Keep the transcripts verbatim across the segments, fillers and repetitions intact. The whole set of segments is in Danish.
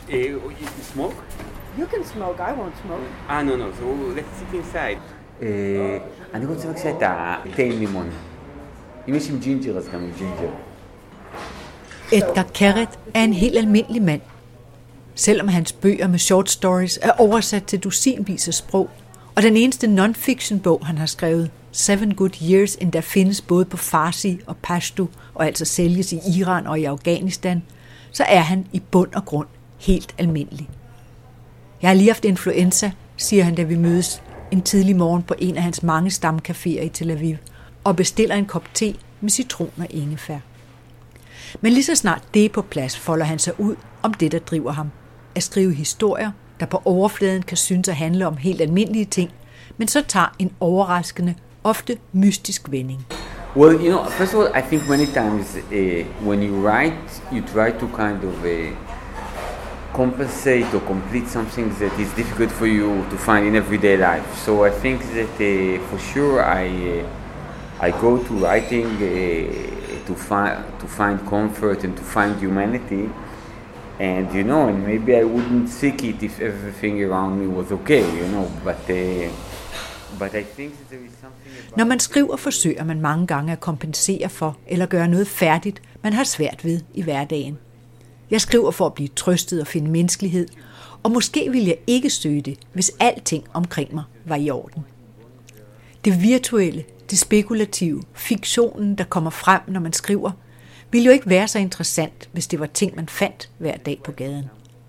Uh, you smoke? You can smoke, I won't smoke. Ah, no, no, so let's sit inside. Uh, אני רוצה בבקשה את התה עם לימון. אם יש עם ג'ינג'ר, אז גם עם ג'ינג'ר. Edgar Keret er en helt almindelig mand. Selvom hans bøger med short stories er oversat til dusinvis af sprog, og den eneste non-fiction-bog, han har skrevet, Seven Good Years, endda findes både på farsi og pashto, og altså sælges i Iran og i Afghanistan, så er han i bund og grund helt almindelig. Jeg har lige haft influenza, siger han, da vi mødes en tidlig morgen på en af hans mange stamcaféer i Tel Aviv, og bestiller en kop te med citron og ingefær. Men lige så snart det er på plads, folder han sig ud om det, der driver ham. At skrive historier, der på overfladen kan synes at handle om helt almindelige ting, men så tager en overraskende, ofte mystisk vending. Well, you know, first of all, I think many times uh, when you write, you try to kind of uh, compensate or complete something that is difficult for you to find in everyday life. So I think that uh, for sure I uh, I go to writing uh, to find to find comfort and to find humanity. And you know, and maybe I wouldn't seek it if everything around me was okay, you know, but uh, but I think that there is something about... Når man skriver, forsøger man mange gange at kompensere for eller gøre noget færdigt, man har svært ved i hverdagen. Jeg skriver for at blive trøstet og finde menneskelighed, og måske ville jeg ikke søge det, hvis alting omkring mig var i orden. Det virtuelle, det spekulative, fiktionen, der kommer frem, når man skriver, ville jo ikke være så interessant, hvis det var ting, man fandt hver dag på gaden.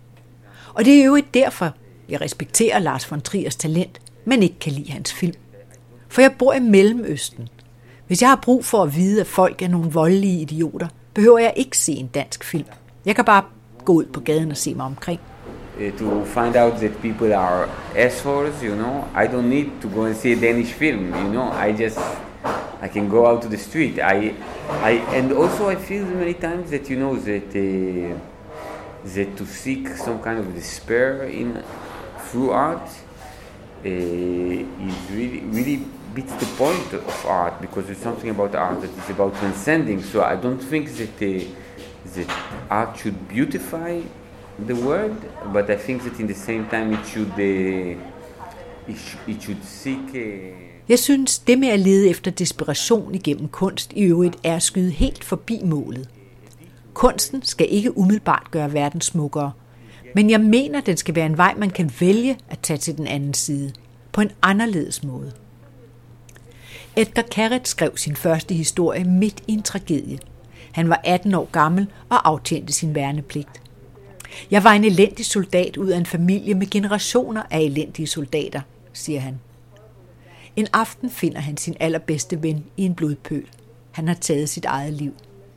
Og det er jo ikke derfor, jeg respekterer Lars von Triers talent, men ikke kan lide hans film. For jeg bor i Mellemøsten. Hvis jeg har brug for at vide, at folk er nogle voldelige idioter, behøver jeg ikke se en dansk film. Jeg kan bare gå ud på gaden og se mig omkring. To find out that people are assholes, you know, I don't need to go and see a Danish film, you know, I just... I can go out to the street. I, I, and also I feel many times that you know that uh, that to seek some kind of despair in through art uh, is really really beats the point of art, because there's something about art that is about transcending. So I don't think that uh, that art should beautify the world, but I think that in the same time it should uh, it, sh- it should seek. Uh, Jeg synes, det med at lede efter desperation igennem kunst i øvrigt er at skyde helt forbi målet. Kunsten skal ikke umiddelbart gøre verden smukkere, men jeg mener, den skal være en vej, man kan vælge at tage til den anden side, på en anderledes måde. Edgar Keret skrev sin første historie midt i en tragedie. Han var atten år gammel og aftjente sin værnepligt. Jeg var en elendig soldat ud af en familie med generationer af elendige soldater, siger han. En aften finder han sin allerbedste ven i en blodpøl. Han har taget sit eget liv.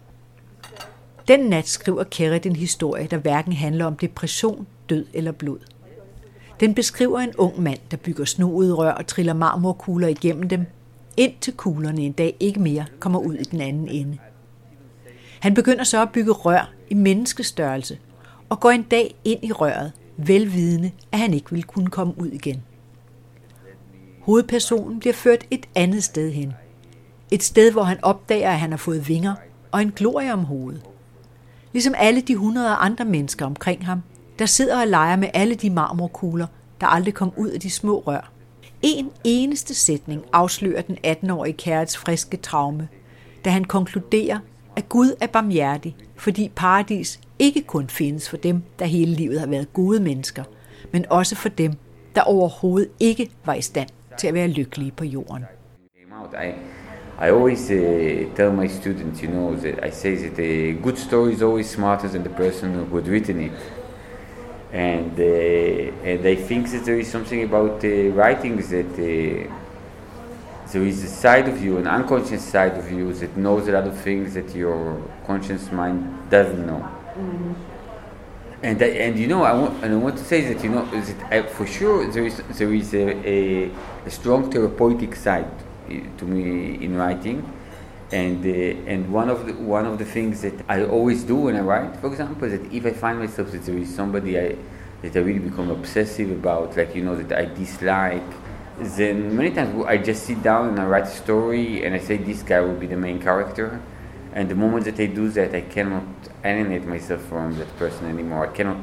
Den nat skriver Keret en historie, der hverken handler om depression, død eller blod. Den beskriver en ung mand, der bygger snoede rør og triller marmorkugler igennem dem, indtil kuglerne en dag ikke mere kommer ud i den anden ende. Han begynder så at bygge rør i menneskestørrelse, og går en dag ind i røret, velvidende, at han ikke vil kunne komme ud igen. Hovedpersonen bliver ført et andet sted hen. Et sted, hvor han opdager, at han har fået vinger og en glorie om hovedet. Ligesom alle de hundrede andre mennesker omkring ham, der sidder og leger med alle de marmorkugler, der aldrig kom ud af de små rør. En eneste sætning afslører den atten-årige Kerets friske traume, da han konkluderer, at Gud er barmhjertig, fordi paradis ikke kun findes for dem, der hele livet har været gode mennesker, men også for dem, der overhovedet ikke var i stand til at være lykkelige på jorden. I, I always uh, tell my students, you know, that I say that a good story is always smarter than the person who had written it. And uh, and I think that there is something about uh, writing that uh, there is a side of you, an unconscious side of you that knows a lot of things that your conscious mind doesn't know. Mm-hmm. And I, and you know, I want and I want to say that, you know, that I, for sure there is there is a, a, a strong therapeutic side to me in writing, and uh, and one of the one of the things that I always do when I write, for example, that if I find myself that there is somebody I that I really become obsessive about, like, you know, that I dislike, then many times I just sit down and I write a story and I say this guy will be the main character. And the moment that I do that, I cannot alienate myself from that person anymore. I cannot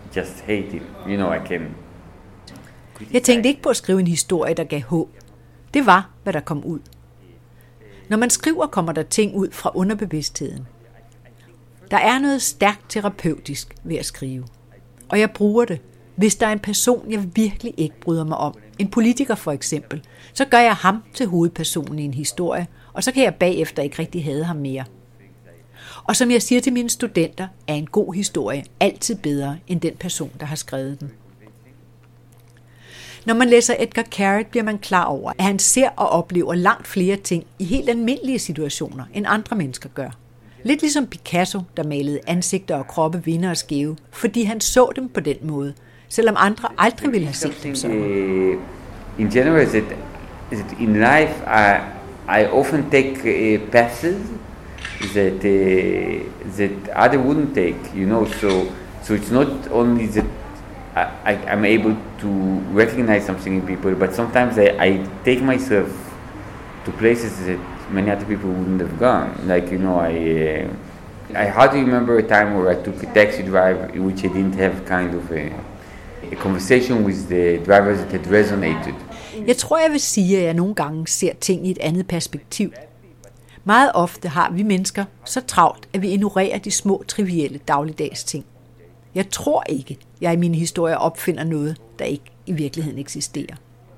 just hate it. You know, I can... Jeg tænkte ikke på at skrive en historie, der gav håb. Det var, hvad der kom ud. Når man skriver, kommer der ting ud fra underbevidstheden. Der er noget stærkt terapeutisk ved at skrive. Og jeg bruger det. Hvis der er en person, jeg virkelig ikke bryder mig om, en politiker for eksempel, så gør jeg ham til hovedpersonen i en historie, og så kan jeg bagefter ikke rigtig hade ham mere. Og som jeg siger til mine studenter, er en god historie altid bedre end den person, der har skrevet den. Når man læser Edgar Keret, bliver man klar over, at han ser og oplever langt flere ting i helt almindelige situationer, end andre mennesker gør. Lidt ligesom Picasso, der malede ansigter og kroppe vinde og skæve, fordi han så dem på den måde, selvom andre aldrig ville have set dem sådan. In general, that, that in life, I, I often take uh, paths that uh, that other wouldn't take, you know. So, so it's not only that I, I'm able to recognize something in people, but sometimes I, I take myself to places that many other people wouldn't have gone. Like, you know, I uh, I hardly remember a time where I took a taxi drive in which I didn't have kind of a, a conversation with the drivers that had resonated. Jeg tror, jeg vil sige, at jeg nogle gange ser ting i et andet perspektiv. Meget ofte har vi mennesker så travlt, at vi ignorerer de små, trivielle dagligdags ting. Jeg tror ikke, jeg i mine historier opfinder noget, der ikke i virkeligheden eksisterer.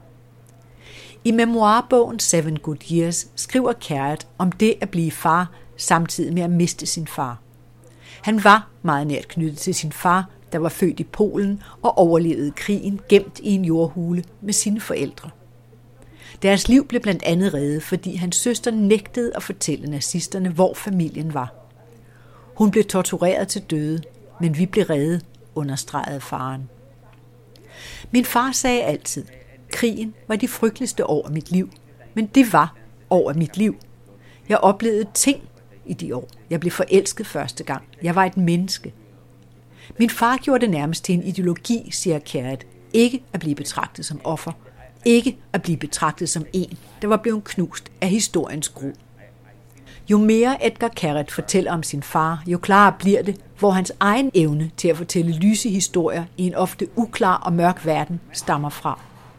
I memoirbogen Seven Good Years skriver Keret om det at blive far samtidig med at miste sin far. Han var meget nært knyttet til sin far, der var født i Polen og overlevede krigen gemt i en jordhule med sine forældre. Deres liv blev blandt andet reddet, fordi hans søster nægtede at fortælle nazisterne, hvor familien var. Hun blev tortureret til døde, men vi blev reddet, understregede faren. Min far sagde altid, krigen var de frygteligste år af mit liv, men det var år af mit liv. Jeg oplevede ting i de år. Jeg blev forelsket første gang. Jeg var et menneske. Min far gjorde det nærmest til en ideologi, siger Keret. Ikke at blive betragtet som offer. Ikke at blive betragtet som en, der var blevet knust af historiens gru. Jo mere Edgar Keret fortæller om sin far, jo klarere bliver det, hvor hans egen evne til at fortælle lyse historier i en ofte uklar og mørk verden stammer fra.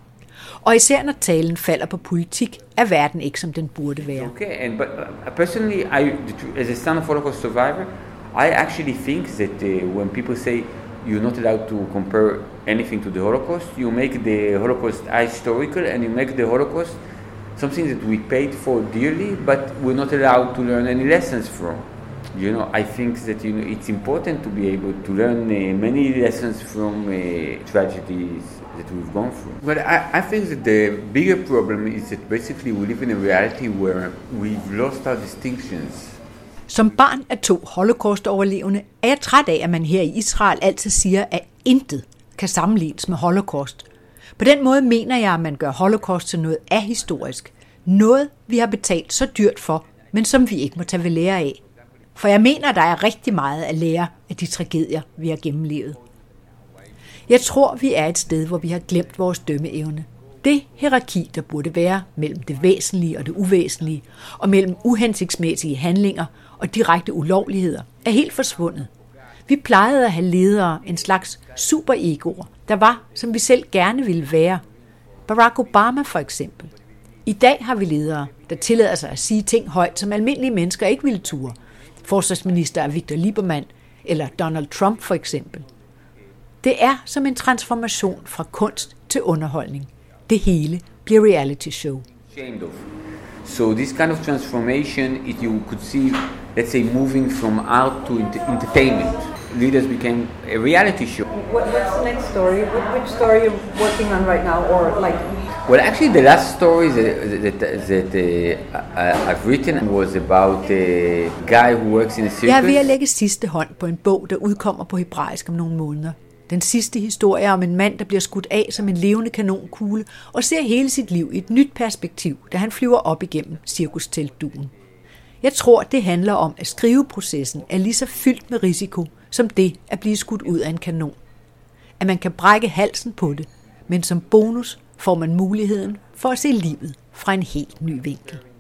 Og især når talen falder på politik, er verden ikke som den burde være. Okay, and but uh, personally, I, as a son of Holocaust survivor, I actually think that uh, when people say you're not allowed to compare anything to the Holocaust, you make the Holocaust historical and you make the Holocaust something that we paid for dearly, but we're not allowed to learn any lessons from. You know, I think that you know it's important to be able to learn uh, many lessons from uh, tragedies that we've gone through. But I, I think that the bigger problem is that basically we live in a reality where we've lost our distinctions. Som barn af to holocaust-overlevende er jeg træt af, at man her i Israel altid siger, at intet kan sammenlignes med holocaust. På den måde mener jeg, at man gør holocaust til noget ahistorisk. Noget, vi har betalt så dyrt for, men som vi ikke må tage ved lære af. For jeg mener, at der er rigtig meget at lære af de tragedier, vi har gennemlevet. Jeg tror, vi er et sted, hvor vi har glemt vores dømmeevne. Det hierarki, der burde være mellem det væsentlige og det uvæsentlige, og mellem uhensigtsmæssige handlinger og direkte ulovligheder, er helt forsvundet. Vi plejede at have ledere, en slags superegoer, der var, som vi selv gerne ville være. Barack Obama for eksempel. I dag har vi ledere, der tillader sig at sige ting højt, som almindelige mennesker ikke ville ture. Forsvarsminister Victor Lieberman eller Donald Trump for eksempel. Det er som en transformation fra kunst til underholdning. Det hele bliver reality show. So this kind of transformation, if you could see, let's say, moving from art to entertainment, leaders became a reality show. What, what's the next story? Which story are you working on right now, or like? Well, actually, the last story that, that, that uh, I've written was about a guy who works in a circus. Jeg er ved at lægge sidste hånd på en bog, der udkommer på hebraisk om nogle måneder. Den sidste historie er om en mand, der bliver skudt af som en levende kanonkugle og ser hele sit liv i et nyt perspektiv, da han flyver op igennem cirkusteltdugen. Jeg tror, det handler om, at skriveprocessen er lige så fyldt med risiko, som det at blive skudt ud af en kanon. At man kan brække halsen på det, men som bonus får man muligheden for at se livet fra en helt ny vinkel.